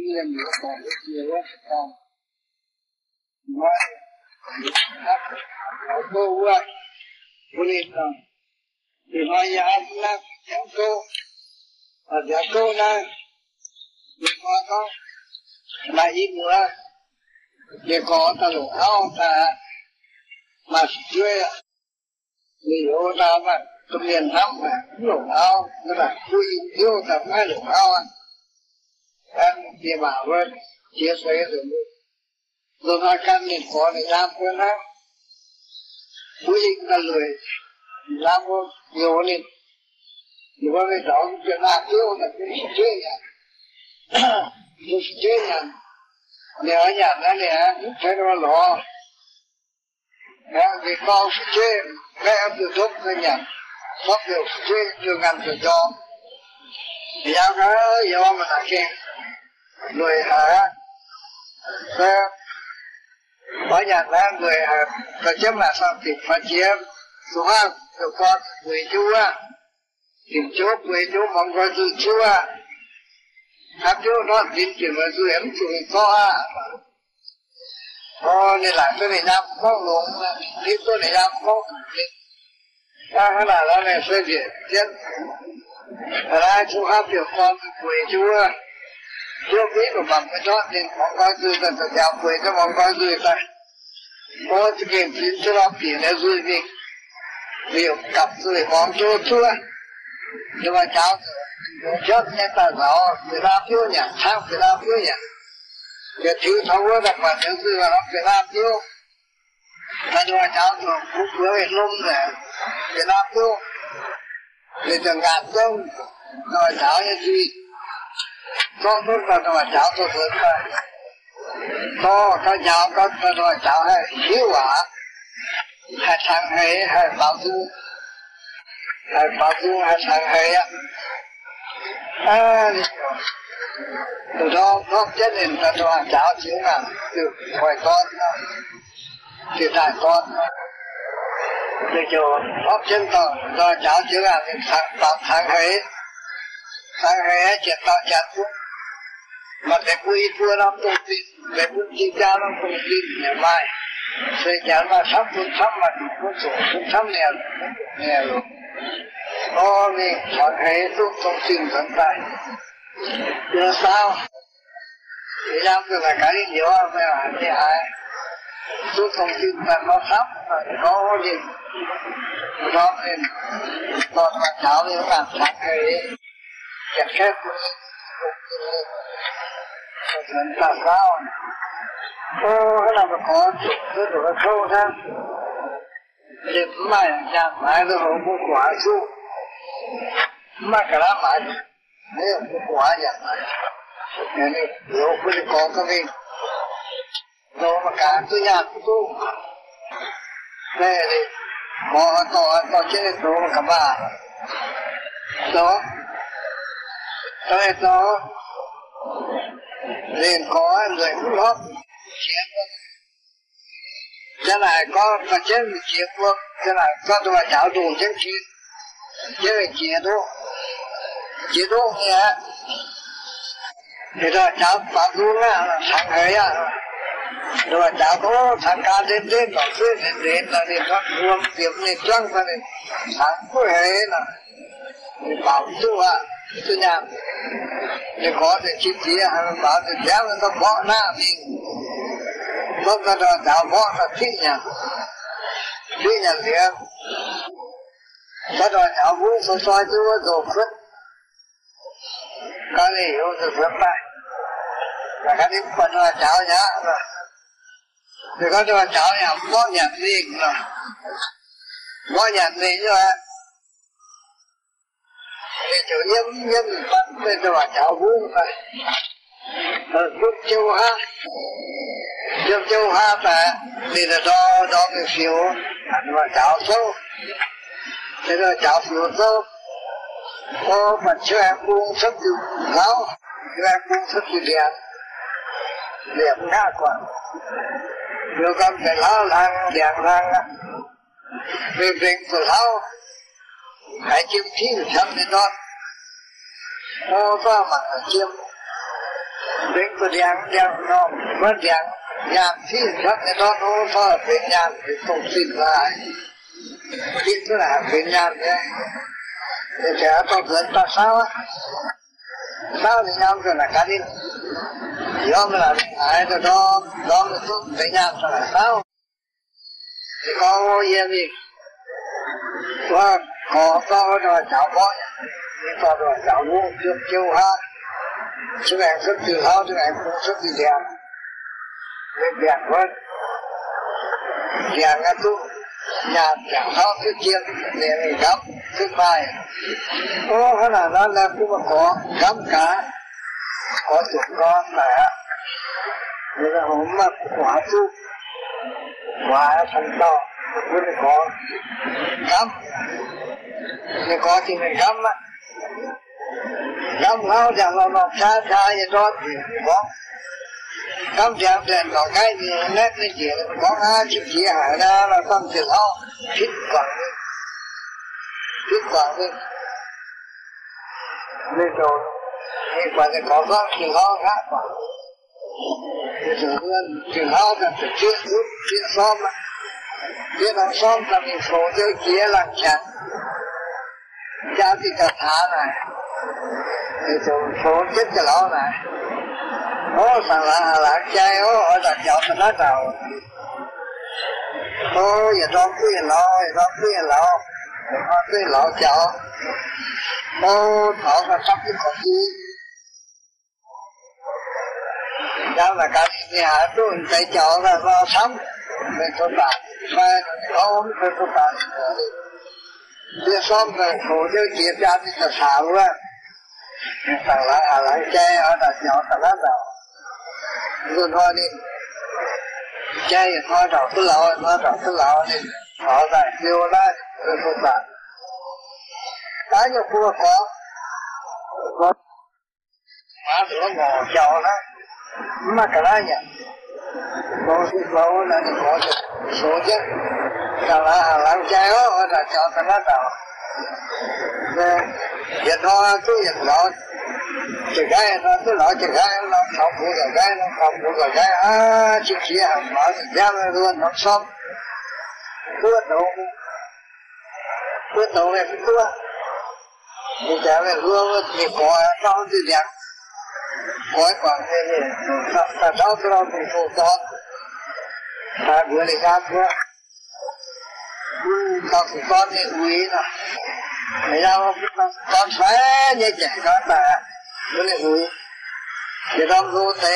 là một con cái gì đó con nói nó cô quá cô đi con thì nói giờ anh là cháu cô và cháu cô này thì có là ít nữa thì có ta lỗ áo ta mà chơi ví dụ ta mà trong miền Nam mà lỗ áo nó là vui yêu ta phải lỗ áo anh thì bảo với chia sẻ rồi nó căn nên có để làm quên đó quý là lười làm có nhiều nên nhưng mà cái đó cái làm yêu là cái chơi nhá cái chơi nhá nếu ở nhà nó nè phải nó lo cái con chơi cái em từ lúc cái nhà nó đều chơi chưa ngăn được cho thì sao cái giờ mà là khen người hả cái ở nhà là người có chấm là sao thì phải chia số ha rồi con người chú á tìm chú người chú mong coi từ chú á các chú nó tìm chuyện mà chú em chú có á nên là cái này làm không luôn đi tôi này làm không cái là này sẽ việc chết là chú hát được con người chú á chưa biết của bằng cái đó nên mong coi từ từ từ giáo quê cho mong coi từ ta có cái chuyện cho nó tiền là rồi việc việc cặp rồi mong cho chúa nhưng mà cháu chết nghe ta rõ người ta phiêu nhỉ sao người ta phiêu nhỉ cái thứ thấu đó đặc biệt nếu như là nó người ta phiêu ta cho cháu rồi cũng vừa về lông rồi người ta phiêu để chẳng gạt không rồi cháu như gì con tốt là nó cháu tôi lớn rồi có cháu có nó cháu hay hiếu quả hay thằng hay bảo du hay thằng hay á từ đó nó chết nên ta cho cháu chứ là từ khỏi con từ đại con để cho ốc chân tờ cho cháu chứ là thằng hay chuyện tao chặt thuốc mà để quy thua nó không tin để quân chi cha nó không tin nhà mai sẽ chả là sắp quân sắp mà quân sổ quân sắp nè rồi nó đi chọn hệ thuốc không tin dẫn tay giờ sao thì làm được là cái gì đó phải là thế ai thuốc không tin là nó sắp nó đi đó nên còn mà cháu thì nó làm sẵn hệ chặt khép mình làm sao cái nào mà có cái đồ nó sâu ra để mai nhà mai nó không có quả su mà cái đó mai nếu không có quả nhà mai nên nếu không có cái gì đồ mà cả tôi nhà tôi đây đi có trên đồ mà cả ba đó đó liền có người cũng lót thế này có trên chiếc quốc thế này có tôi cháu đủ trên chi chứ là chế độ nhé thì rồi cháu bảo luôn là thằng ấy à rồi cháu có thằng ca đến nó cứ đến là đi thoát luôn tiếp này trăng ra này thằng có hệ là bảo tôi à tôi nhầm để có thể chi tiết hay bảo thì kéo nó bỏ na mình không có đó đào bỏ là thích nhà liền cái đó cháu vui soi tôi rồi phất cái này hiểu được phất này là cái điểm phần là cháu nhá thì có cho cháu nhà bỏ nhà liền rồi bỏ nhà liền rồi thì chủ nhân bắt lên cho cháu vui vậy giúp châu ha mà thì là đó cái phiếu mà cháu số thế rồi cháu phiếu số có mà cho em cũng rất từ giáo cho em cũng rất từ đẹp khá quá rồi con phải lao làng đẹp làng về việc của thao hãy chiếm thi được chấm đến đó có mặt ở chiếm đến cái điện nó mất điện nhạc thì chắc cái đó nó phảiเป็นnhạc thì không xin lại biết cái làเป็นnhạc đấy thì sẽ có chuyện ta sao á sao thì nhau rồi là cái đi do mình là ai rồi đó mình cũngเป็นnhạc rồi là sao thì có gìว่าขอก็จะเจ้าบ่นี่ก็จะเจ้าลูกเจ้าฮะช่วยสักทีเขาช่วยผู้สักทีเดียวเป็นแบบว่าอย่างนั้นทุกอย่างอย่างเขาคือเจียมเนี่ยนี่ครับขึ้นไปโอ้ขนาดนั้นแล้วผู้มาขอคำกาขอจุดก้อนแต่นี่ก็ผมมาขวาทุกขวาชั้นต่อคุณขอคำนี่ก็ที่หนึ่งคำอ่ะคำเขาจะเราลองช้าอย่าโดนบอกคำจากเดินต่อใกล้นี่แน่ไม่เกี่ยวของชิบเสียหายนะเราต้องเสียเขาคิดกว่านี่โดนนี่กว่าจะขอก็ถึงเขาครับกว่าถึงเพื่อนถึงเขากันจะเชื่อรู้เชื่อซ้อมอ่ะเชื่อเราซ้อมจะมีโฟเจอเกียร์หลังฉันจาติกถาไหนไอ้ตัวโฟเจ็ดจะเล่าไหนโอ้สั่งหลังใจโอ้ดักเจ้าชนะเจ้าโอ้อย่าร้องเพื่อนเราอย่าร้องเพื่อนเราอย่าร้องเพื่อนเราเจ้าโอ้เขาก็ชักที่คนดีแล้วแต่การเนี่ยรุ่นใจเจ้าแล้วเราซ้ำเป็นตัวตายไปเขาเป็นตัวตายเรื่องซ้อมเลยโหเรื่องเกียรติยาที่จะถามว่าสั่งหลังใจเอาดักเจ้าชนะเจ้ารุ่นพ่อนี่ใจพ่อดอกตุลานี่ขอได้เร็วได้เป็นตัวตายตายอยู่คู่ขอมาถึงแล้วหมอเจ้านะมากระไรเนี่ยโซ่ที่เราเนี่ยขอจะโซ่จะสั่งหลังใจเอาดักเจ้าชนะเจ้าเนี่ยอย่าท้อตู้อย่าท้อจะได้เราตู้เราจะได้เราทำบุญจะได้เราทำบุญจะได้ชิ้นเสียหมาสิ่งที่เราล้วนน้ำซ้ำตัวโตเลยตัวนี่จะเป็นเรื่องที่ขอเราที่เดียกขอก่อนเนี่ยถ้าเราเป็นผู้สอนถ้าบริการเพื่อต้องสอนเนี่ยอุ้ยนะไม่เอาตอนแฝงเนี่ยแจกก็แต่ไม่ได้อุ้ยอย่าต้องรู้แต่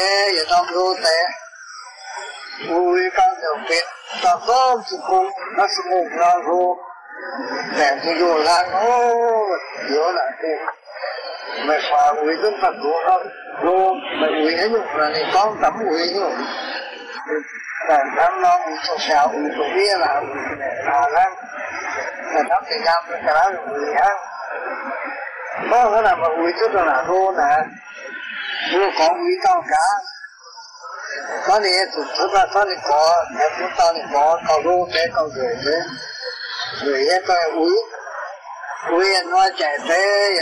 อุ้ยก็จะเป็นต้องสุขุมนักสมุนเรารู้แต่ที่อยู่หลังโอ้เยอะหลายคนไม่ฟังอุ้ยต้องตัดตัวเขารู้ไม่อุ้ยให้อยู่นี่ต้องทำอุ้ยอยู่แต่ทำน้องอุ้ยตัวเช้าอุ้ยตัวเบี้ยละอุ้ยเนี่ยตาแล้วแต่ทำสิ่งงามเป็นกระไรอุ้ยฮะเพราะขนาดมาอุ้ยตัวหนาโน่นะรู้ของอุ้ยต้องการตอนนี้สุดท้ายตอนนี้ขอแต่ทุกตอนนี้ขอเขารู้แต่เขาเกิดเลยngười ấy coi úi nói chạy thế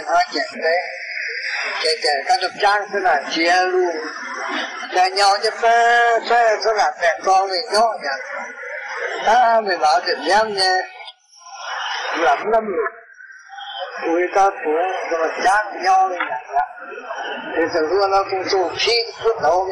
các độc trang thế là chia luôn chạy nhau cho phê là mẹ con mình nhó nhỉ mình bảo chuyện em nha lắm lắm úi ta cũng độc trang nhau như vậy thì thường luôn nó cũng dù khi phút đầu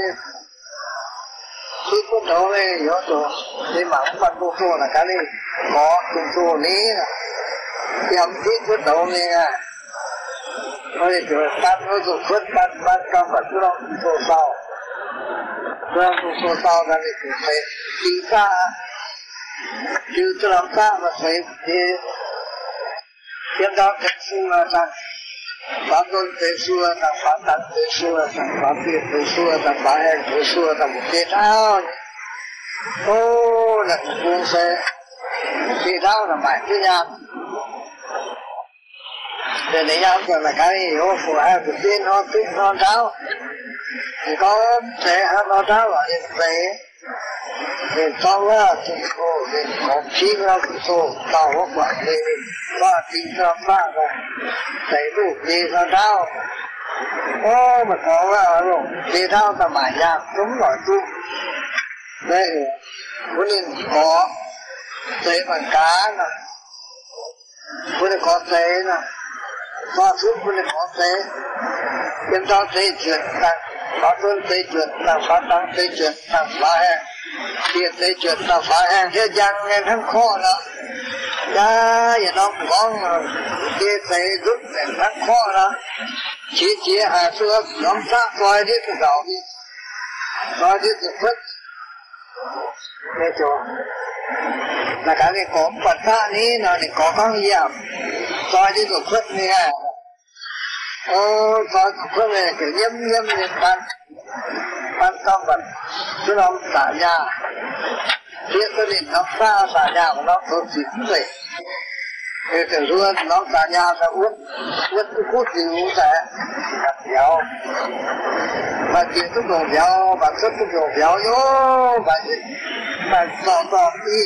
này nhớ rồi đi mà cũng bắt buộc là cái này có cùng số ní em thích phút đầu này rồi tắt nó rồi phút bắt trong vật đó số sau trong số sau cái này cũng phải đi ra chứ cho làm sao mà phải thì em đó cái số là sao pháp luân thế xưa thằng pháp tánh thế xưa thằng pháp việt thế xưa thằng pháp em thế xưa thằng một thế thao ô là buông xe thế thao là mãi thế nham để lấy nhau cho là cái hiểu phụ hai của tiên nó thích nó thao thì có thể nó thao là như thế thì sau đó thì có chi ra cái số tàu có quản lý và tính ra phá rồi thấy đủ gì ra thao ô mà có rồi đi thao tầm bài nhạc đúng rồi tu đây có nên có tế bằng cá nè có nên có tế nè có thuốc có nên có tế em cho tế chuyện tăng có tuân tế chuyện tăng phát tăng tế chuyện tăng phá hẹn tiền tế chuyện tăng phá hẹn thế gian nghe thằng khó đó ya ya nó có cái tế giúp để thằng khó đó chỉ hai xưa nhóm sát coi đi từ đầu đi coi đi từ phất nghe chưa là cái này có vật ta ní nó thì có con gì à coi đi từ phất này à coi từ phất này kiểu nhâm lên ban tâm vật chứ nó xả nhà biết cái này nó xả nhà của nó thôi chỉ vậy thì từ luôn nó xả nhà sẽ uống cái cút gì uống sẽ gặp béo và chuyện thuốc đồ béo và thuốc đồ béo vô và tỏ đi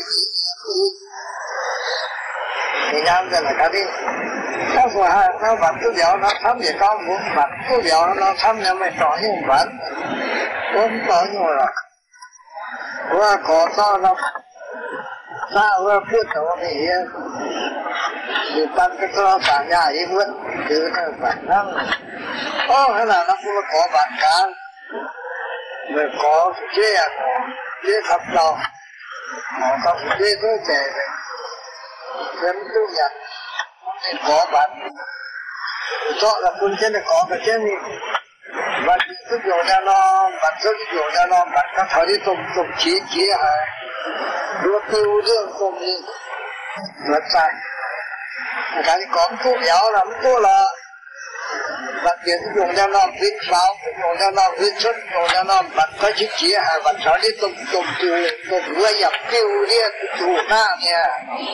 thì nhắm ra là cái gì nó vừa nó vật thuốc béo nó thấm gì con muốn vật thuốc béo nó thấm nhưng mà tỏ như một vật không tỏ như một rồi qua có to nó sao qua phút đó thì tăng cái to cả nhà ấy vượt chứ nó bản thân hay là nó cũng có bản cá rồi có chế thập đầu có chế tôi trẻ dân tu nhật thì có bản cho là quân trên này có cái trên này và sức dầu ra nó bản sức dầu ra nó bản các thời đi tùng chí hả đua tiêu dương tùng đi rất sai cái gì có thuốc béo lắm thuốc là và tiền dùng cho nó viết pháo dùng cho nó viết xuất dùng cho nó bản có chữ chí hả bản thời đi tùng vừa nhập tiêu đi chủ na nha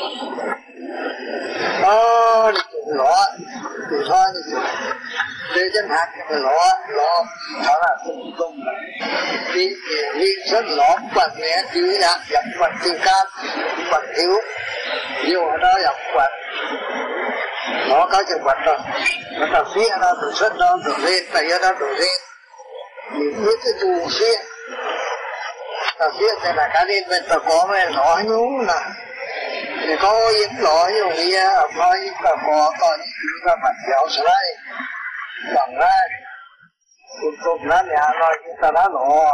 đi chủ lọ thì thôi để chân hạt cái lọ đó là tùng đi rất lọ vật này chứ đã nhập vật từ cam vật thiếu nhiều ở đó nhập vật nó có chừng vật rồi nó ta phía nó từ xuất nó từ lên tại nó từ lên mình biết cái tù phía ta phía thì là cái lên bên ta có mấy lọ nhúng nè thì có những lọ như vậy ở coi ta có những thứ ta mặt dẻo sợi bằng ra cùng nó nhà rồi chúng ta đã lọ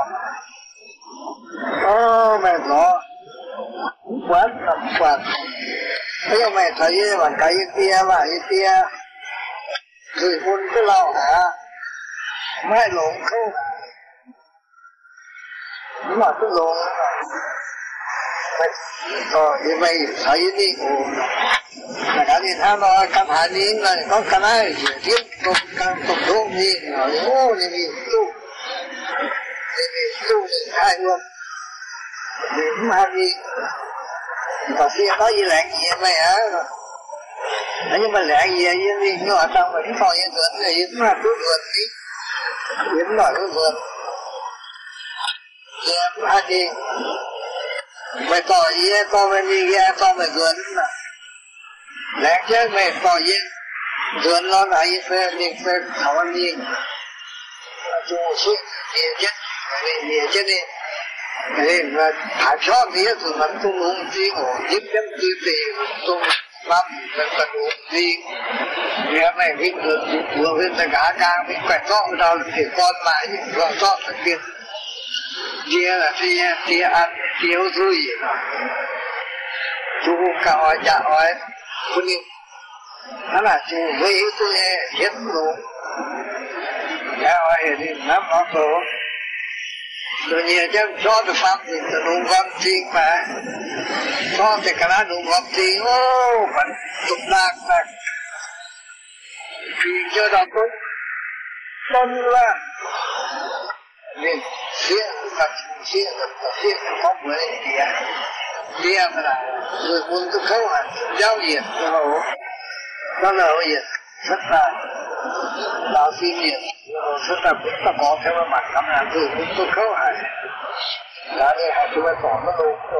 mày lọ quán làm quạt thấy mày thấy bằng cái tia và cái tia rồi hôn cái lao hả mai lộn không nhưng mà cái lộn như vậy thấy đi là cả đi tham nó cam hạ đi là có cái này tiếp tục độ đi rồi đi tu hai luôn điểm hai đi còn kia có gì lẹn gì mày hả nhưng mà lẹn gì đi nhưng mà tao vẫn còn những vườn này điểm là cứ vườn đi điểm là cứ vườn điểm hai đi mày tỏ gì con mày đi ra con mày vườn lẹn chứ mày tỏ gì vườn nó là gì phê đi phê thảo anh đi chung suốt địa chất đi thì là thải cho thì mình không uống gì ngủ giúp chấm tư tiền không làm mình cần uống gì việc này cái vừa bên tất cả càng bị quẹt cho đâu thì con mãi rồi cho phải tiền kia là kia ăn thiếu gì chú cao hỏi trả hỏi con yêu nó là chú với tôi hết luôn cái hỏi thì nắm nó số tự nhiên chứ cho được pháp thì tự đúng gom tiền mà cho thì cái đó đúng gom tiền vẫn tục lạc là vì cho đó tốt tân là nên xuyên không với kia mà là người muốn tôi khâu hẳn giao diện nó là gì rất là đạo xin diện rất là rất có theo mặt cảm nhận từ tôi khâu hẳn đó thì hai chúng ta có nó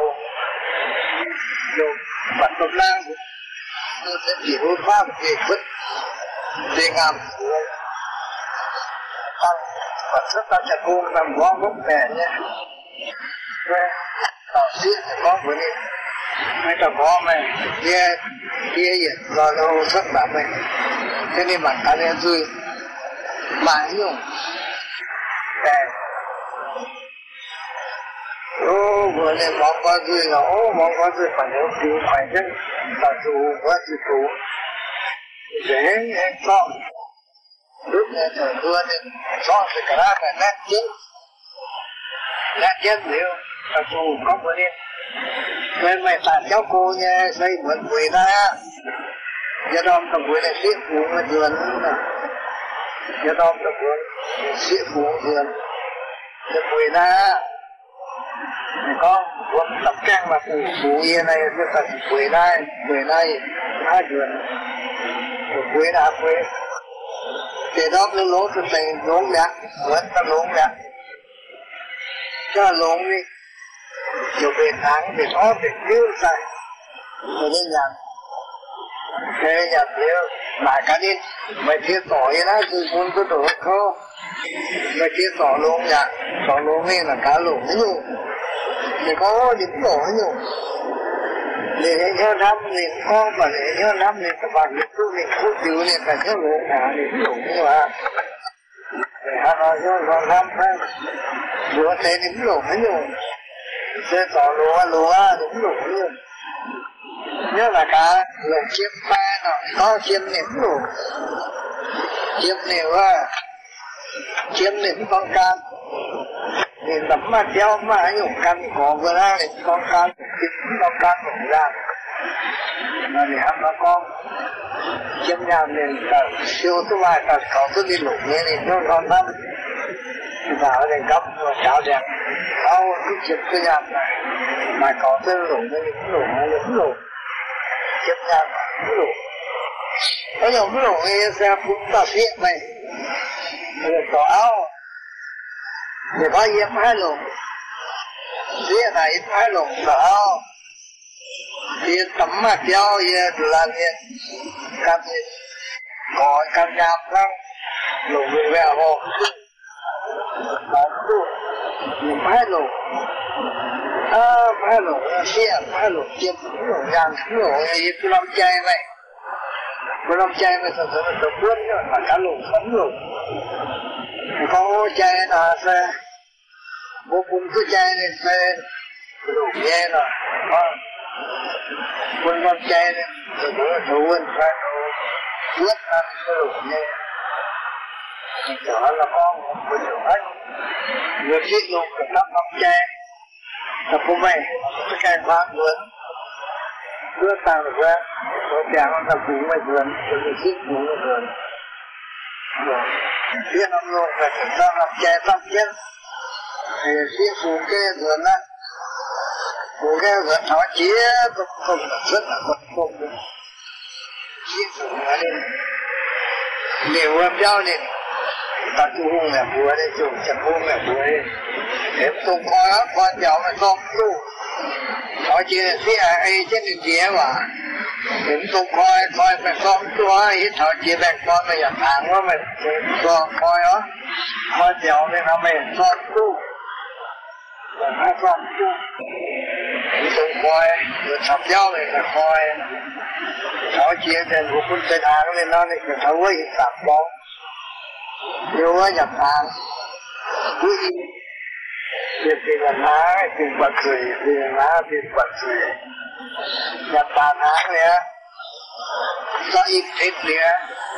đồ vật tập lang tôi sẽ chỉ đối pháp về vứt về ngàm tăng và rất ta chặt buông làm bó gốc bè nhé tao xiết thì có bữa đi mấy tao có mày kia gì lo đâu rất là mày thế nên bản thân em vui mãi nhung bè vừa lên mong có vui nó mong có vui phải nhớ cứu phải chứ tao dù có gì cứu dễ em con lúc này thời vừa nên con thì cả là nét chết liệu tao dù có bữa đêm nên mày tàn cháu cô nha xây mượn quỷ ta do đó tao quỷ này siết phụ mà dườn do đó tao quỷ siết phụ dườn cho quỷ ta con quân tập trang mà phụ yên này cho ta quỷ này hai dườn quỷ đã quỷ thì đó nó lỗ cho thầy lỗ nhạc vẫn ta lỗ nhạc cho lỗ đi rồi về tháng thì có việc tiêu xài rồi đến nhạc thế nhạc tiêu lại cả đi mày thiết tỏi đó thì muốn có đồ không mày thiết tỏ lỗ nhạc tỏ lỗ nghe là cá lỗ nhung thì có những lỗ nhung để theo năm mình con và để theo năm mình các bạn biết tôi mình phút chữ này phải theo lỗ cả để lỗ như vậy để họ nói cho con năm tháng vừa thấy những lỗ nhung sẽ tỏ lỗ đúng lỗ luôn nhớ là cả lỗ chiếm ba nó có chiếm những lỗ chiếm nhiều chiếm những con can thì tấm mà treo mà anh dùng căn có vừa ra thì con can con can cũng ra mà để ăn nó con chiếm nhà mình siêu thứ ba ta có thứ đi lục như này nó con lắm vào để gấp và cháo đẹp sau cái chiếm cái nhà này mà có thứ lục như những lục chiếm nhà những lục có nhiều cái lục như xe cũng ta xiết này rồi có áo thì có yếm hai lồng xiết này hai lồng đó thì tấm mà treo về là như cam như có cam nhám răng lồng về vẹo hồ có yếm hai lồng hai lồng xiết hai lồng chiếm lồng nhàng lồng yếm cái lồng chay này cái lồng chay này thật sự là tập quân mà cả lồng sống lồng có chay là xe vô cùng cứ chay này xe đủ nghe rồi quân con chay này rồi bữa thủ quân phải quyết ăn cái đủ nghe đó là con của nhiều hết người thiết dụng của các con chay tập của mày cái chay khoác vườn đưa tao được ra có chàng con tập cũng mày vườn rồi người thiết dụng cái vườn phía năm luôn là chúng ta làm chè tóc chết thì phía phụ kê vườn á phụ kê vườn họ chia cũng không rất là bất công chia phụ ở đây nếu em giao này ta chú hùng là búa đây chú chẳng hùng là búa đây em tung coi á con cháu mà không chú họ chia phía ai trên đường kia mà em tung coi mà không chú á ít họ chia bèn con mà nhập hàng quá mình coi á coi cháu nên nó mình không chú và nó không chú em tung coi rồi sắp giao này là coi họ chia trên của quân tên hàng nên nó này phải thấu với tạp bóng yêu á nhập hàng cuối việc thì là ná tiền bật rồi thì là ná tiền bật rồi nhập hàng hàng này á do ít thịt này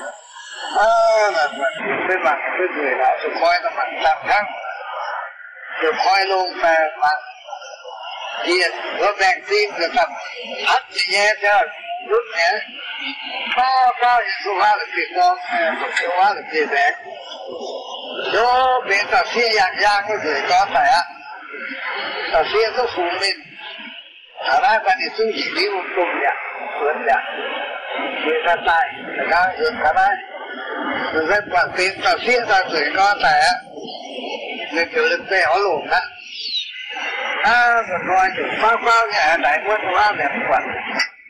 là cái mặt cái người là tôi coi nó mặt tạm khăn rồi coi luôn về mặt tiền nó bèn tim rồi tập hắt thì nghe cho lúc nhé cao những số hóa được việc con số hóa được việc bé đó bên ta xia dạng cái người có thể á ta xia nó phụ mình thả ra ta đi xuống chỉ đi một cùng nhạc vấn nhạc người ta tài người ta được thả ra người ta quản tiền ta xia ta người có thể á người kiểu lực bè họ lộn á rồi coi chừng phao nhà đại quân hóa đẹp quản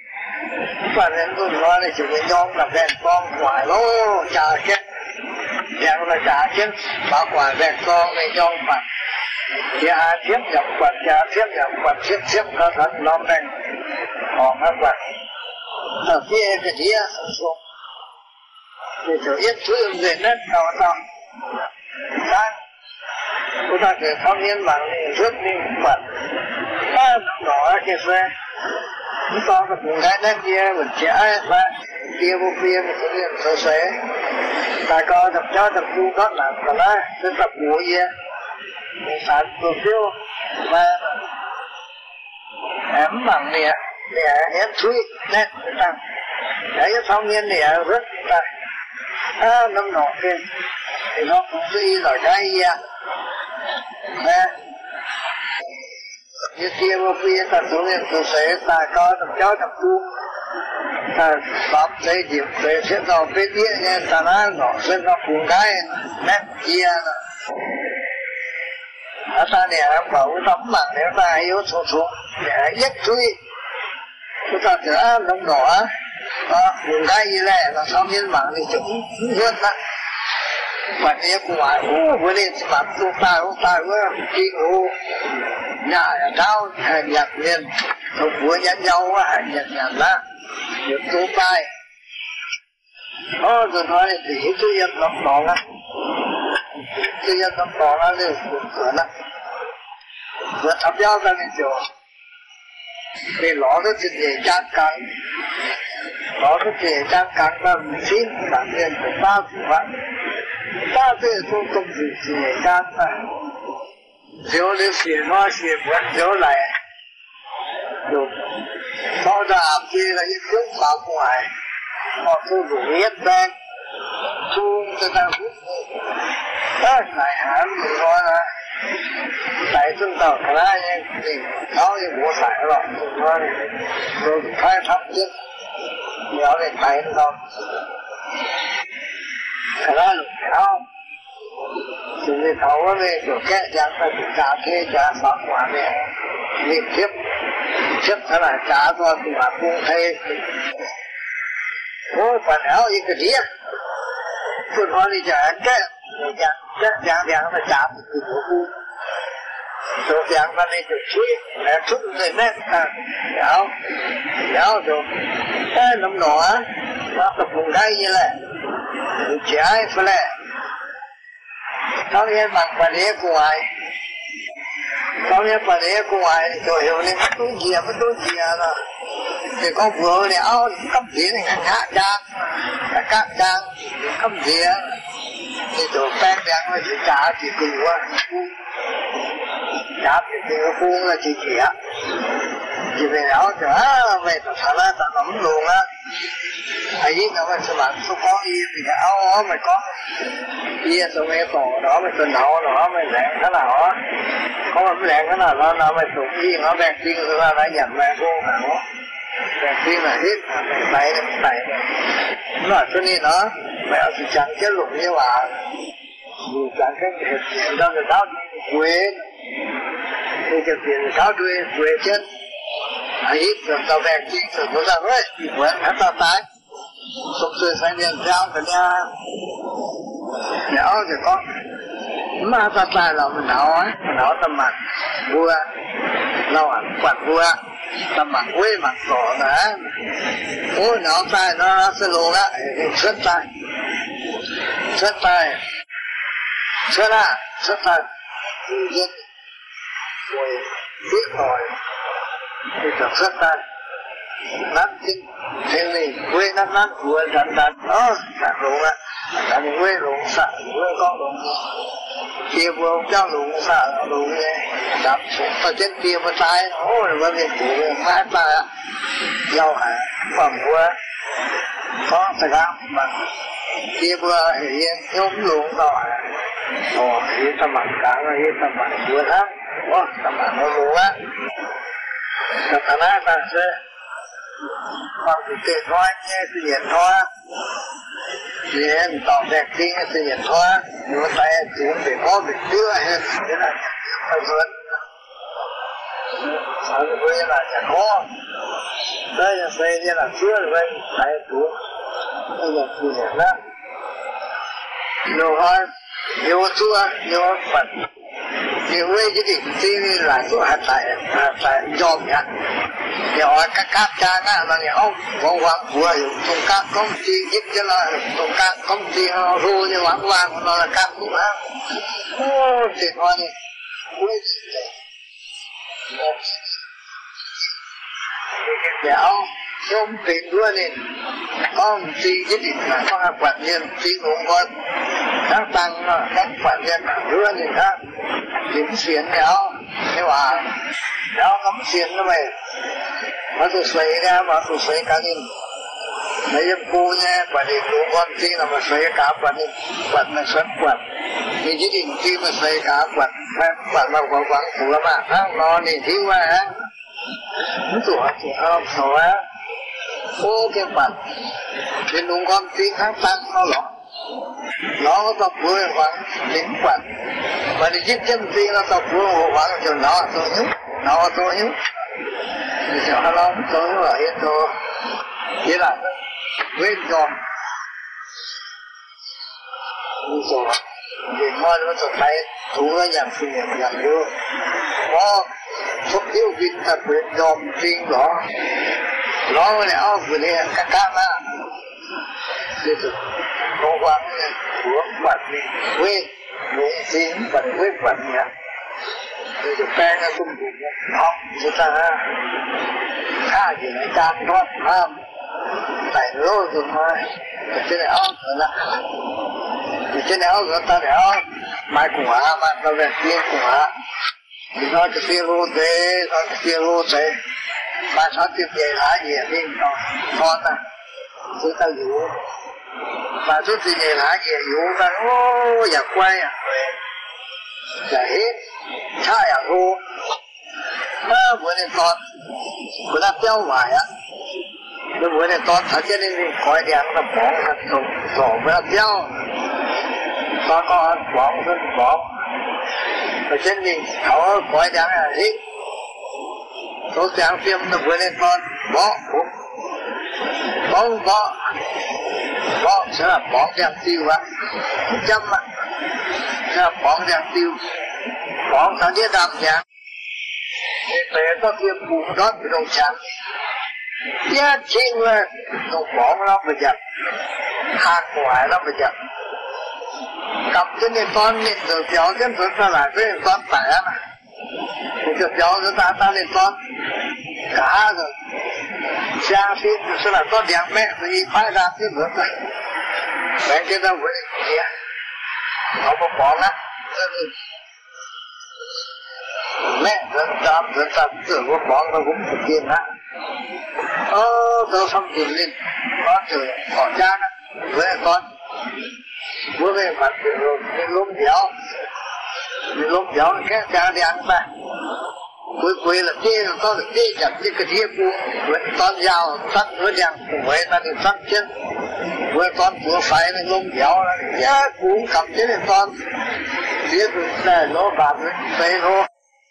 và nên tôi nói là chỉ có nhóm là đèn con ngoài lô chà chết dạng là trả chiến bảo quản vẹn con về dòng phạt thì thiết nhập quạt trả thiết nhập quạt thiết có thật nó thành họ các bạn ở phía cái gì xuống thì chỗ ít thứ về nét đào đang chúng ta sẽ thông nhiên bằng rất nhiều vật đó cái xe chúng ta có cùng cái nét kia mình trẻ và kia vô phía mình sẽ liền sơ sế ta có tập cho tập du có là còn đó sẽ tập bùa gì mình sản đồ phiêu và em bằng nè em suy nét tăng đấy cái thông nhiên nè rất là năm nọ kia thì nó cũng suy là cái gì như kia vô phía ta xuống lên tôi sẽ ta có tập cháu tập tu ta bắp xây dựng để sẽ nó phía địa nha ta nói nó sẽ nó cùng cái nét kia ta nè bảo tấm bằng nếu ta yếu số để nhất truy chúng ta sẽ nông đỏ cùng cái gì này là sau nhiên bằng thì chúng hơn đó và nếu của ai với lên mặt chúng ta với khi ngủ nhà cao nhặt lên không muốn nhắn nhau nhặt ra được tố tay rồi nói thì tôi yên lắm đó á tôi yên lắm đó là đều cửa đó vừa thắp giao ra nên chỗ vì nó rất dễ chán cắn nó rất dễ chán cắn và xin bản nhiên của ta cũng vậy ta thì tôi không gì dễ chán mà nếu nếu xỉa nó xỉa vẫn nếu lại được sau đó khi là những tiếng pháp ngoài họ tôi đủ biết đang thu cho ta hút này hẳn mình nói là tại chúng ta có ai thì nói như bộ sải rồi nói rồi khai thác chứ nhớ đến tay nó đâu cái đó là không thì người thấu về chỗ kẻ chẳng phải trả thuê trả pháp quả này liên tiếp thế là trả cho tụi bạn cũng thấy ôi phần áo như cái gì tôi nói đi trả cái chẳng phải trả từ chỗ khu chỗ chẳng phải đi chỗ chuối để chút người nét áo rồi cái nấm nọ nó tập cùng cái như này trái phải là sau này mặc quần áo của ai sau này quần áo của ai rồi hiểu lên mất túi gì là thì có vừa này áo cấp gì này ngã các trang cấp gì thì chỗ pen đen là chỉ trả chỉ cừu trả chỉ cừu là chỉ chỉ về áo chở về thật là ta nắm luôn á ai biết đâu mà bạn không có gì thì cái áo mày có gì rồi mày tổ đó mày tuần đầu đó mày lẹn thế nào á có mà lẹn thế nào nó mày tụng gì nó bẹt tiên rồi nó nhận mày vô mà nó bẹt tiên là hết mày tay nó cho nên nó mày chỉ chẳng cái lụng như mà dù chẳng cái hiện ra người ta quên thì cái tiền cáo quê chết ai ít rồi tao bẹt tiên rồi nó ra rồi quên hết tao tái sụp sôi sang điện giao cái nhà thì con mà ta tài là mình nấu tầm mặt vua lâu quạt vua tầm mặt quê mặt cỏ đó ôi nấu tài nó sẽ luôn á xuất tài xuất tài giết rồi biết rồi thì tập xuất tài nát kinh thế này quê nát vừa đắn sạc luôn á là những quê luôn sạc quê con luôn kia vừa cho luôn sạc luôn đạp xuống ta chết kia mà tay ôi mà việc của mát ta giàu hả phẩm vừa có phải không mà kia vừa hiện nhóm luôn rồi hiện tâm mặt cả rồi hiện tâm mặt vừa lắm tâm mặt nó luôn á ta nói ta sẽ còn thì tiền thôi nghe tự nhiên thôi thì em tỏ đẹp kinh tự nhiên thôi nhưng mà tay chúng phải có việc đưa hết thế là phải vượt ở quê là chẳng có đây là xây như là chưa rồi tay xuống bây giờ tự nhiên đó 有做有本，因为这里这来做还在用呀，有啊các cha á là nhiều vòng vòng vừa trong các công ty ít cho là trong các công ty họ thu như vàng vàng nó là các cũng á, thì thôi đi, kéo trong tiền luôn đi, công ty nhất định là có các quản nhân tí cũng có các tăng các quản nhân luôn đi ha, kiếm tiền kéo, thế mà kéo cắm tiền nó mày, mà tụi xoay ra mà tụi xoay cá đi, mấy em cô nha, quản lý đủ con tí là mà xoay cá quản là xoắn quản, thì nhất định tí mà xoay cá quản mà quảng phủ là mà nó thì thiếu quá á. Tụi ông sổ á, ô cái bản, cái đúng con tiếng hát tăng nó có tập vui khoảng tiếng quản, và đi giết chân tiếng nó tập vui khoảng cho nó tôi nhúc, thì cho nó tôi ở hết rồi, thế là quên rồi, rồi, thì mọi người tôi thấy thú nó nhận sự nhận vô, có thuốc tiêu viên ta quyết dòm riêng đó nó lại áo vừa này các á thì tôi có quán của bạn đi quên muốn xin bạn quên bạn nha thì tôi quen nó cũng học chúng ta khá gì này càng thoát ham tại lô rồi mà trên này áo rồi nè trên này áo rồi ta để áo mai cùng á mai ta về tiên cùng á thì nó cái tiền lô tế mà sao tiếp về lại gì đi con ta chúng ta hiểu mà chúng ta về lại gì hiểu ta ô nhà quay à là hết cha à cô bữa nay con bữa nay béo hoài á bữa nay con thật cho nên coi đèn nó bỏ bữa nay béo con bỏ ở trên mình họ coi đèn là hết số trang phim nó vừa lên con bỏ sẽ là bỏ đèn tiêu á trăm á sẽ là bỏ đèn tiêu bỏ thằng đĩa đàm nhạc thì về có phim bùn đó bị đồng sáng giá trên là nó bỏ nó bây giờ hạt ngoài nó bây giờ cầm trên này con nhìn rồi kéo trên rồi ta lại cái con tẻ mà cái kéo rồi ta lên con cả rồi xa phim sẽ là con đèn mẹ thì phải ra cái nữa thôi mẹ cái đâu vậy kia nó có bỏ lắm mẹ dân tâm tưởng có bỏ nó cũng thực hiện á tôi xong tiền lên con thử bỏ cha đó với con bữa về mặt rồi cái lốm béo cái cha đi ăn mà cuối là chê có được chê chặt cái thia cu với con dao tắt với đèn cùng với ta đi tắt chân với con vừa phải cái lốm béo là giá cũng cầm chứ này con phía này nó bạc đây nó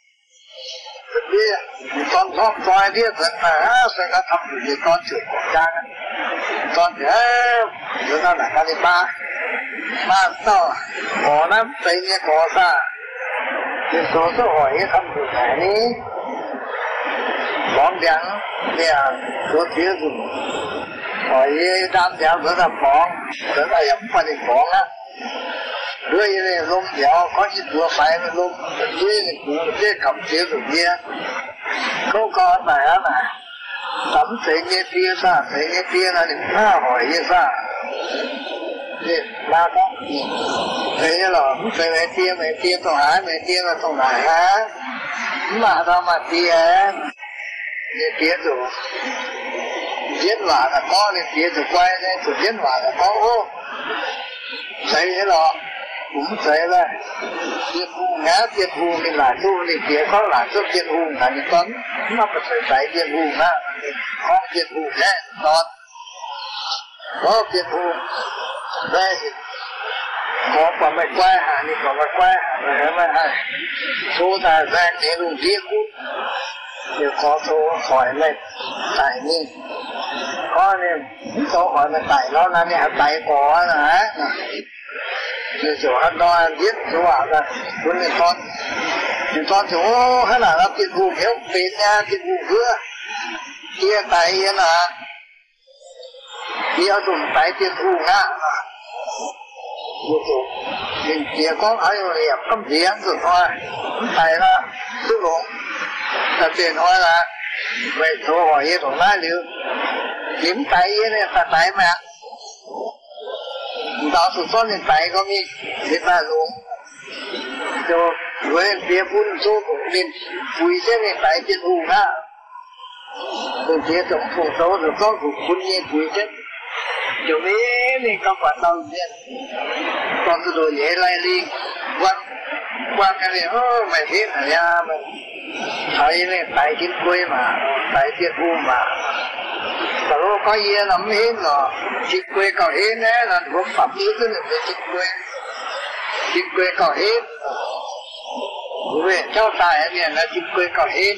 con thoát coi đi thật mà sẽ có thăm được con chửi của cha con thế chúng ta là cái ba tao có lắm thấy nghe có sao thì số hỏi thăm được cái này bóng trắng nè số phía dùng hỏi đam giáo rất là bóng rất là giống phần hình bóng á đuôi này lông dẻo có những đua phải với lông đuôi này cũng cái cầm phía dùng kia không có phải á mà tắm thấy nghe tia sao thấy nghe tia là đừng hỏi như sao thì ba con thấy là mẹ tia tổ hái mẹ tia là tổ hái á mà sao mà tia tia rồi giết hỏa là có nên tia rồi quay lên rồi giết hỏa là có ô thấy thế là cũng thấy là tiệt hùng á tiệt hùng thì là tu thì tia có là cho tiệt hùng là những con nó phải thấy tiệt hùng á có tiệt hùng đấy con có tiệt hùng đây thì có quả mày quay hả thì có mày quay hả mà hả số ta ra để luôn riêng cút thì có số hỏi mày tại như có nên số hỏi mày tại nó là này tại có là 就很多人就話啦，本嚟講就可能啦，變戶票變啊，變戶票，啲大嘢啦，啲有種大變戶啊，你講喺度入今次人就話係啦，都講就變開啦，咪做何嘢同拉了，點大嘢咧？大大咩？到處說你大個面，你大路就我別本做工面，為什麼大變戶啊？就別種土豆就做出本嘢為什？就沒你搞管到面，到處都也來哩，關個哩沒聽係呀咪，睇你大變貴嘛，大變戶嘛。แต่เราก็เยี่ยมไม่เห็นหรอกจิตเกยก็เห็นนะนั่นผมปรับนี้ก็หนึ่งเป็นจิตเกยก็เห็นเว้ยเจ้าตายเนี่ยนะจิตเกยก็เห็น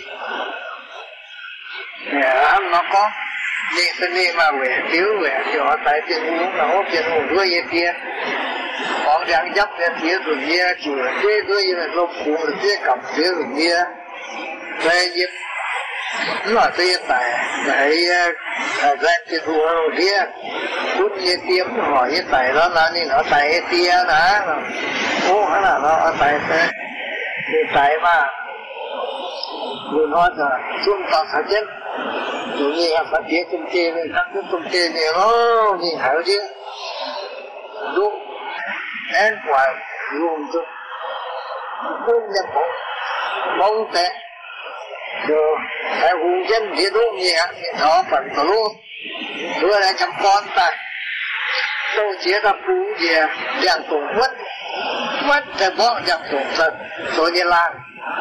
เนี่ยอันนั้นก็นี่เสน่ห์มาเว้ยเดี๋ยวตายเป็นหูเราเป็นหูด้วยเยี่ยของอย่างยับเนี่ยเสียส่วนเยี่ยจู่ด้วยลมคูเสียกับเสียส่วนเยี่ยเลยเยี่ยnó tê tại cái ra cái thua kia cút như tiêm hỏi như tại đó là nên nó tại tia nè ô hay là nó tại tại mà người nói là xuống tàu sát chết rồi như là phát triển công ty này các cái công ty này nó nhìn hảo chứ đúng én quả luôn chứ không nhập bóng tệ rồi cái vùng chân địa đô gì ạ đó phần tổ lô rồi là chăm con ta đâu chế ra phú gì dạng tổ mất cái bỏ dạng tổ thật rồi đi làm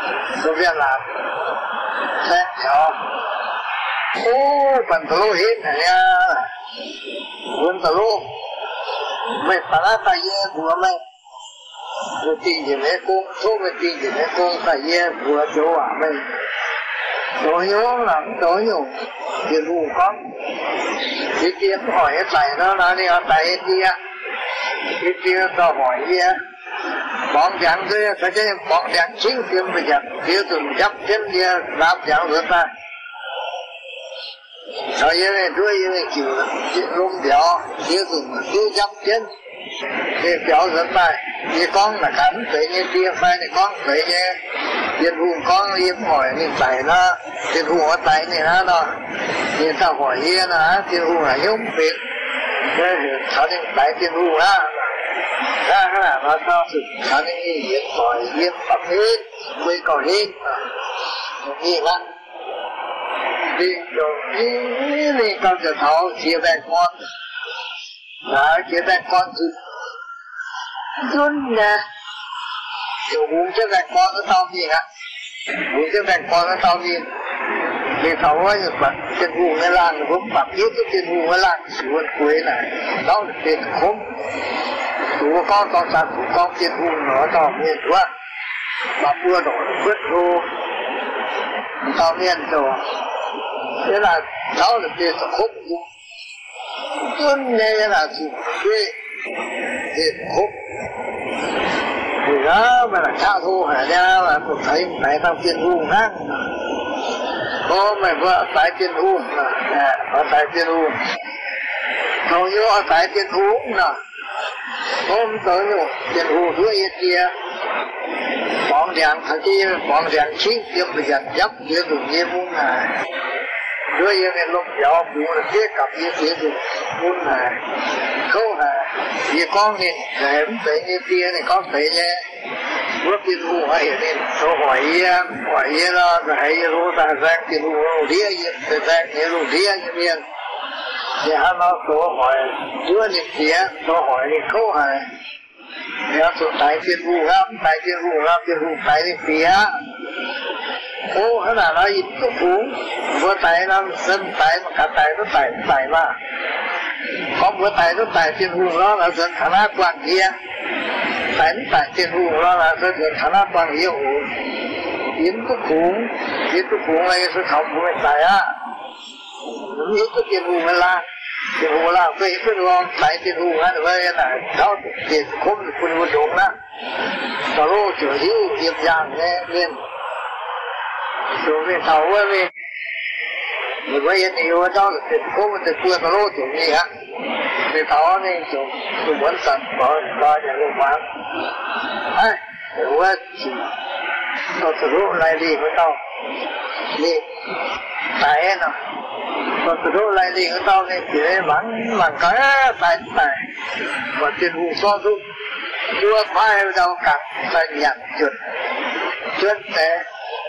thế đó ô phần tổ lô hết này nha phần tổ lô mày phải là tài ye của mày rồi tiền gì mấy con số mày tiền gì mấy con tài ye của chỗ à mày tối nhớ là tối nhủ tiền vụ con cái kia hỏi cái tài nó đi ở tại cái kia tao hỏi kia bọn chẳng kia phải cái bọn chẳng chính tiền bây giờ kia từng chấp tiền kia làm chẳng được ta rồi như này đuôi như này chịu lông béo kia từng kia chấp tiền thì béo rất tay như con là cắn phải như kia phải này con phải như tiền vụ con im hỏi mình tài nó tiền vụ ở tài này nó tiền tao hỏi kia nó tiền vụ là giống việc thế thì sao nên tài tiền vụ á ra cái là nó sao sự sao nên như hiện hỏi hiện tập hết quay cầu hết như vậy đi rồi đi conจะtháo chia về con đó chia về con thì run nè kiểu uống chiếc gạch con nó tao gì hả uống chiếc gạch con nó tao gì thì thấu ấy mà tiền vụ cái làng cũng bạc biết cái tiền vụ cái làng xuống cuối này đó là tiền khốn chú con tao sạch con tiền vụ nó tao miền quá mà vừa đổi vứt vô tao miền rồi thế là đó là tiền khốn run nghe là gì tiền khốn thì đó mà là cao thu hả ra là tôi thấy tại tao tiền u khác có mày vợ tại tiền u ở tại tiền u hầu như ở tại tiền u nè hôm tới nhủ tiền u thứ ít kia bọn đèn thằng kia bọn đèn chính tiếp bây giờ dấp kia dùng như muốn này rồi như này lúc gió bù là kia cặp như kia dùng muốn này không hả vì con nhìn em thấy như kia này con thấy nhé bước tiền vụ hay nên tôi hỏi nó hay rồi ta ra tiền vụ đĩa như ra như rồi đĩa như miền thì hắn nó tôi hỏi chưa nhìn kia tôi hỏi thì không hả nếu tôi tại tiền vụ tại đi phía ô thế là nó ít cái phú vừa tại nó dân tại mà cả tại nó tại mà có bữa tại nó tại tiền hùng đó là dân khả năng quan kia tại tiền hùng đó là dân khả năng quan hiệu yếm cái phú này sẽ không phải tại á yếm cái tiền hùng là tiền hù là về cái luôn tại tiền hù hay là về là đó tiền không quân quân đúng đó tàu lô chở hữu nghiệp giang nghe nên rồi về tàu về người bây giờ nhiều đó là tiền không tiền quân tàu lô chở gì á về tàu này chở muốn sẵn có nhà lô bán ai rồi tàu lô lại đi với tàu đi tại nó còn từ lại đi cái tao này chỉ bằng cái tài và tiền hù so dung đưa phai đâu cả tài nhận chuyện thế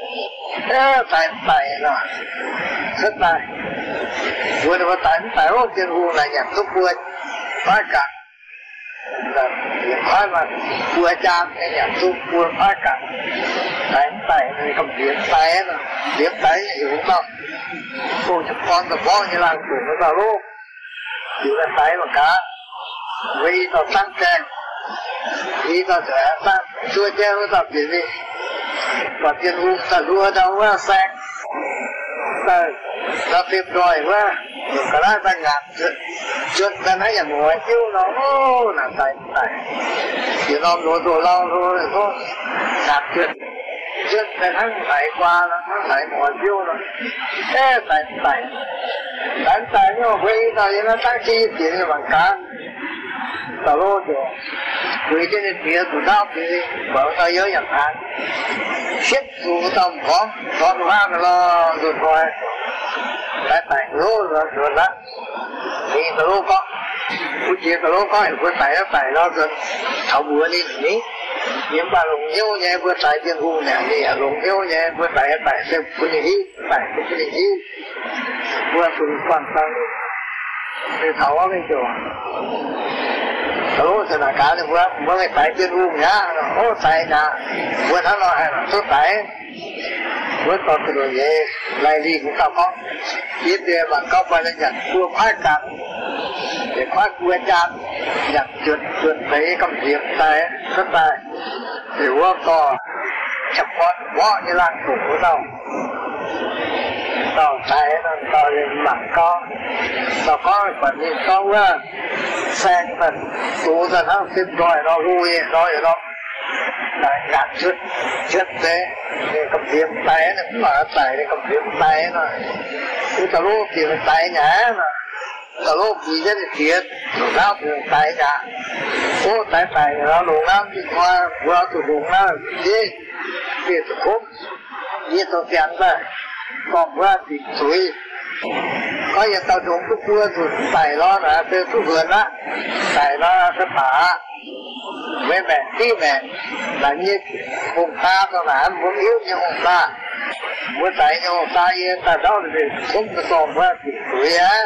tài nó rất tài vừa được tài không tiền hù là nhận giúp vừa phai cả là phai mà vừa trang cái nhận giúp vừa phai cả tài này cầm điểm tài nó điểm tài hiểu không cô chụp con như là của nó vào lúc chỉ là tay mà cá vì nó tăng trang vì nó sẽ tăng chua che nó tập gì đi và tiền hùng ta đua đâu quá sang ta tìm rồi quá cái đó ta ngạt chuyện ta nói là ngồi chiếu nó là tài chỉ nó đồ lâu thôi ngạt chuyện ta thắng phải qua nó phải ngồi chiếu nó thế tài nhưng mà với tao nó tăng chi tiền bằng cá tao lô rồi với trên tiền của tao thì bảo tao nhớ nhận hàng xếp dù tao có hoa nó rồi thôi tài lô rồi đó thì tao lô có của chị tao lô có của tài nó rồi thảo bữa đi nhỉ nhưng mà lùng hiếu nhé vừa tài tiền hù nè thì lùng hiếu nhé vừa tài xem cái gì tài cái gì vừa tụi quan tâm thì thấu ở bên chỗ thấu thì là cả thì vừa cái tài tiền hù nhá ô tài nhà vừa thắng nó hay là số tài vừa to từ rồi về lại đi cũng tao có biết đi bằng cao bài là nhận vừa khoái cảm để khoái vừa chán nhận chuyện thấy công việc tài rất tài thì vừa to chập con quá như là thủ của tao tài nó tao lên mặt tao có phần nhìn tao á sen phần tụ ra nó xin rồi nó vui rồi đó lại gạt chuyện thế để cầm việc tay nó cũng là tay để cầm việc tay nó cái tao lô tiền tay nhá mà tao lô gì rất là thiệt rồi nào tiền tay nhá ô tay nó lùng lắm đi qua vừa tụi lùng lắm đi tụi khốp đi tụi tiền ra còn vừa thì suy có giờ tao trốn cái cua tụi tay nó là từ cái vườn á tay nó sẽ phá với mẹ tí mẹ là như hồn ta tao là muốn yếu như hồn ta muốn tại như hồn ta như ta đó thì không có còn qua thì tuổi á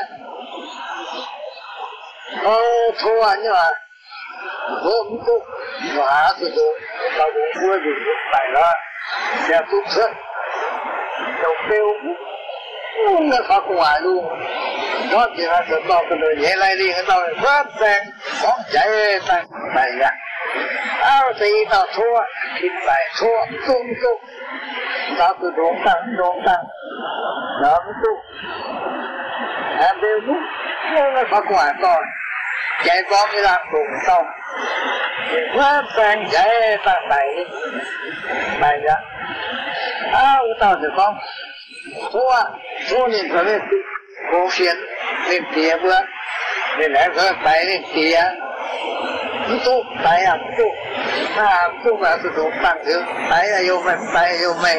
thua nhưng mà hôm cũng hóa sử dụng tao cũng cua thì tại đó sẽ tút sức đầu tiêu nó phát ngoài luôn đó chỉ là tụi tao từ đời nhẹ lại đi cái tao phát sang bóng chạy tay ra áo thì tao thua thì phải thua tung tao từ đốn tăng nó tung em đều đúng nó phát ngoài rồi chạy bóng đi làm cùng tao phát sang chạy tay ra áo tao thì không thua nên phải biết cố phiền nên tía bữa nên lẽ phải tay nên tía tu tay tu tu là tu tu tăng thứ tay là yêu mày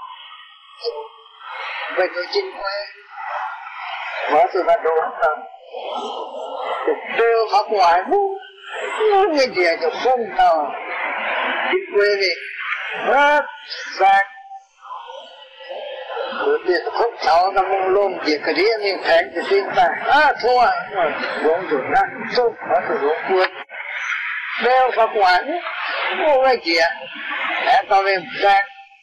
vậy tôi chính quay mở từ bắt đầu tăng đều học ngoài cái gì cho không nào chính quay đi rất sạch rồi biết không cháu nó mong lôm việc cái đĩa nên thèm thì xin ta thua uống rồi đó xúc có sự uống cuốn đeo vào quán mua cái gì để tao lên sang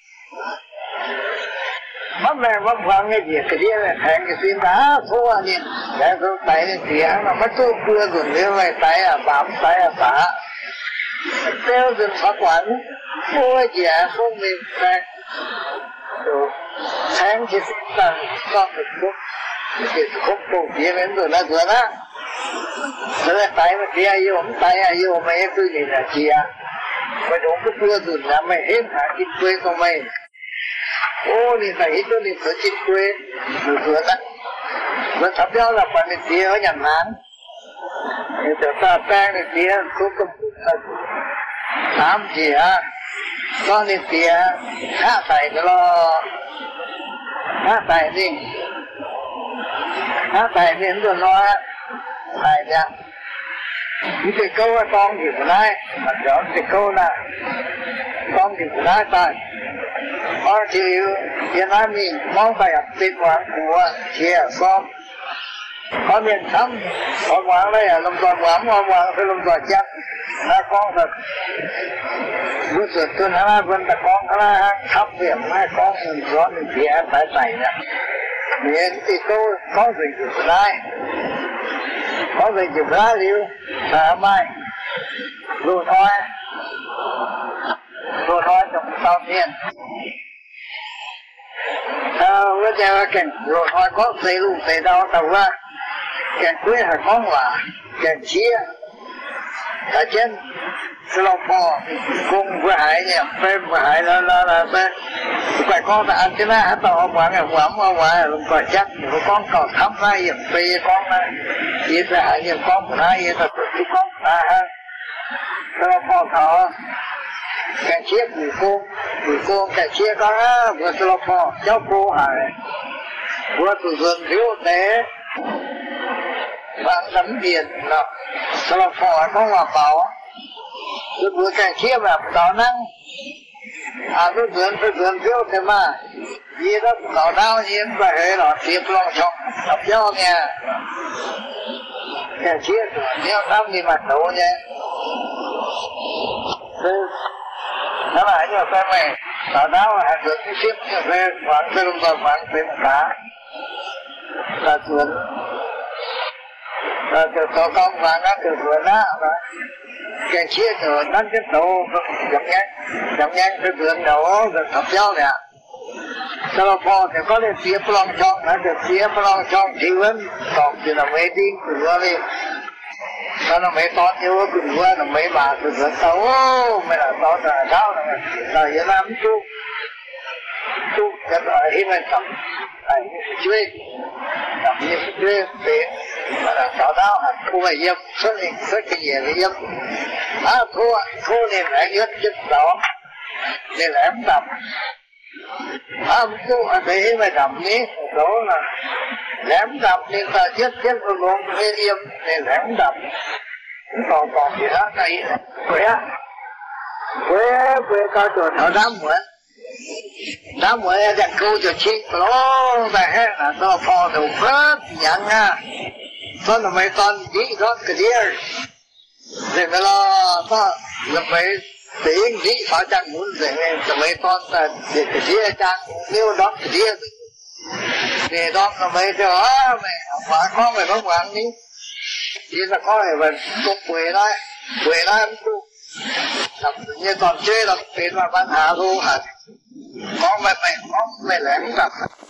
mất mẹ mất khoảng cái gì cái đĩa này thèm thì xin ta thua đi để tôi tay lên tía nó mất tôi cuốn rồi nếu mày tay bám tay phá đeo dừng vào quán mua cái gì không mình sang rồi sáng thì xin ta con được thuốc thì không bổ kia đến rồi là rồi đó Rồi tại mà kia yêu ông tại yêu mày cứ gì là chia mày đúng cái vừa rồi là mày hết hả chính quê của mày ô thì phải hết cho nên phải chính quê rồi vừa đó rồi thắp nhau là bạn đi kia ở nhà hàng thì ta sang đi kia số công tám gì á con đi kia hạ tài cho lo hạ tài đi rồi nó tài ra những cái câu con thì của nãy mà rõ cái câu là con thì của nãy tài ở thì Việt Nam mình mong phải tiền quảng của chia con ở miền Nam ở quảng đây là lồng toàn quảng phải lồng toàn chắc là con thật lúc trước tôi nói vẫn là con là thắp việc mai con mình rõ mình thì em phải xảy ra miền thì câu có gì của nãy có gì chụp ra liu sáng mai rồi thôi trong sau thiên bây giờ cái rồi thôi có xây luôn xây đâu tàu ra cái quê là con là cái chia ở trên Singapore cùng với hải nhỉ phim với hải là phải con ta ăn cái này hết tao ông ăn ngoài luôn coi chắc con còn thắm ra hiểm phi con này chỉ là hiểm con của hai hiểm thật cái con ta ha Singapore thọ cái chiếc người cô cái chiếc đó vừa Singapore cháu cô hải vừa từ vườn thiếu tế bạn tấm biển là Singapore có hòa bảo tôi vừa cái chiếc là đó năng tôi vườn thiếu thế mà gì đó nó đau nhiên và hệ nó tiếp lòng chồng tập nhau nha cái chiếc nếu năm thì mặt đầu nha nó lại như là mày nó đau là được cái chiếc như thế khoảng từ lúc vào khoảng tới một cá là vườn rồi từ tổ công và nó từ vườn đó cái chiếc rồi đánh cái tổ chậm nhanh cái vườn đầu rồi tập nhau nè Singapore thì có thể tiếp lòng trong nó được tiếp lòng trong thì vẫn còn chỉ là mấy tiếng từ vừa đi nó mấy con yêu từ vừa là mấy bà từ vừa tàu mày là to là sao là Việt Nam chú cái loại hi mình tập này chơi tập như chơi để mà là tạo đau thu về dâm xuất cái gì để dâm thu nên phải nhớ chất đó nên là em tập tu ở đây mà đậm ní đó là lém đậm nên ta chết luôn cái liêm nên lém đậm còn gì đó này quê coi rồi thở đám muội đặt câu cho chiếc lố về hết là nó phò đầu phớt nhận à đó là mấy con gì đó cái gì để mà lo nó là mấy tiếng gì phải chẳng muốn để mấy con là để cái gì chẳng nếu đó cái gì để đó là mấy đó mày phải có mày không quản đi chỉ là có này mình cũng quê đó em tu như còn chơi là tiền mà ban hạ thu hả con mày lẻn tập